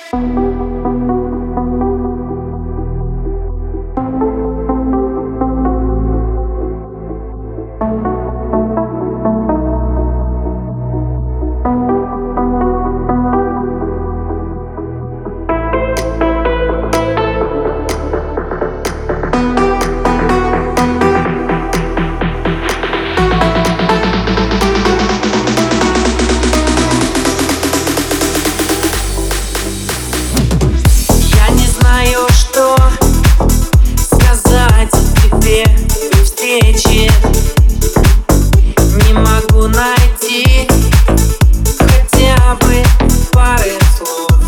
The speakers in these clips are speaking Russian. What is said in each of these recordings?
Не могу найти хотя бы пары слов.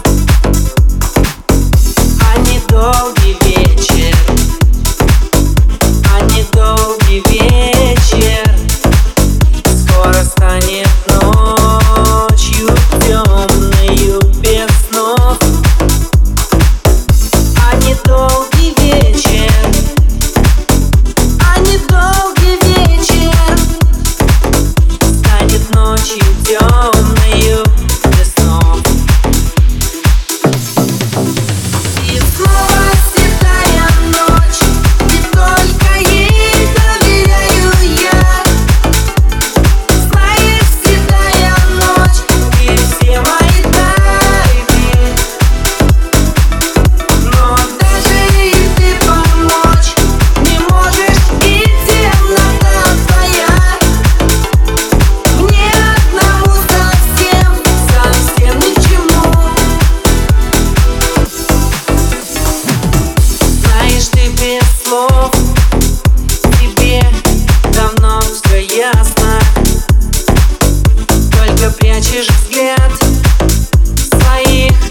А недолгий вечер, а недолгий вечер скоро станет ночью темною без снов. А недолгий вечер, ночью темною без снов. И снова седая ночь, и только ей доверяю я. Знаешь, седая ночь, и все мои тайны, но даже и ты помочь не можешь, и темнота твоя тебе давно все ясно, только прячешь взгляд своих